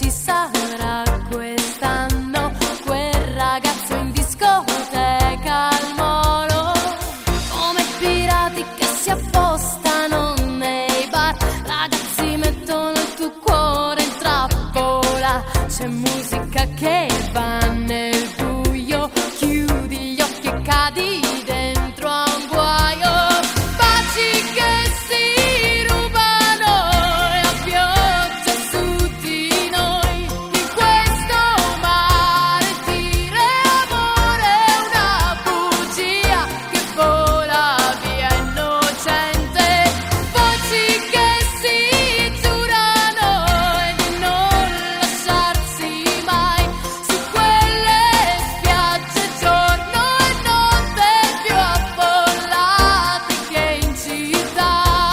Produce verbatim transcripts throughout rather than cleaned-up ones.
ci sarà quest'anno quel ragazzo in discoteca al molo, come pirati che si appostano nei bar. Ragazzi mettono il tuo cuore in trappola, c'è musica che va nel buio, chiudi gli occhi e cadi dentro a un guaio. Baci che si rubano e a pioggia su di noi, in questo mare tira amore, una bugia che vola via innocente. Voci che si giurano e di non lasciarsi mai su quelle spiagge giorno e notte più affollate che in città.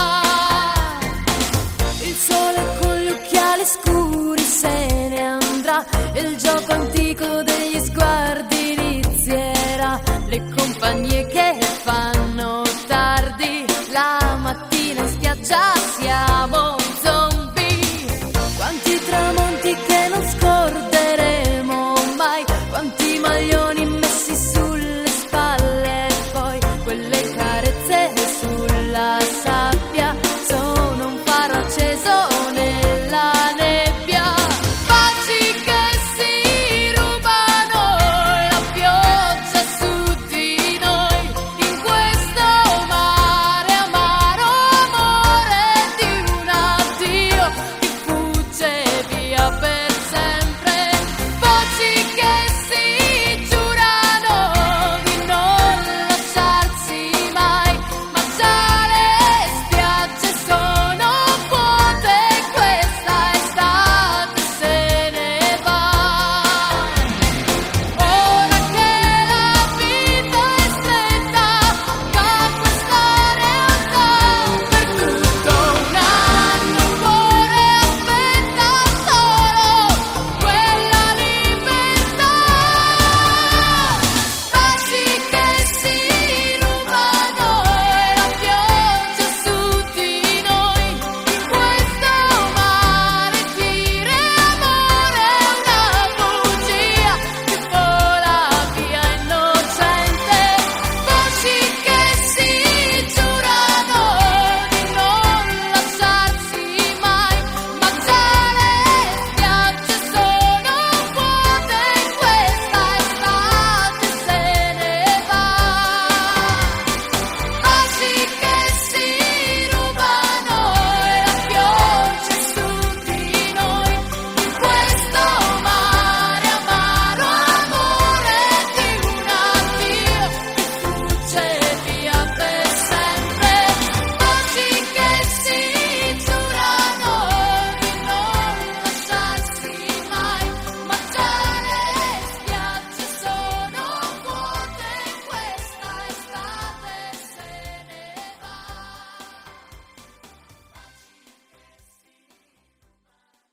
Il sole con gli occhiali scuri se ne andrà e il gioco antico degli sguardi inizierà. Le compagnie che fanno tardi, la mattina in spiaggia siamo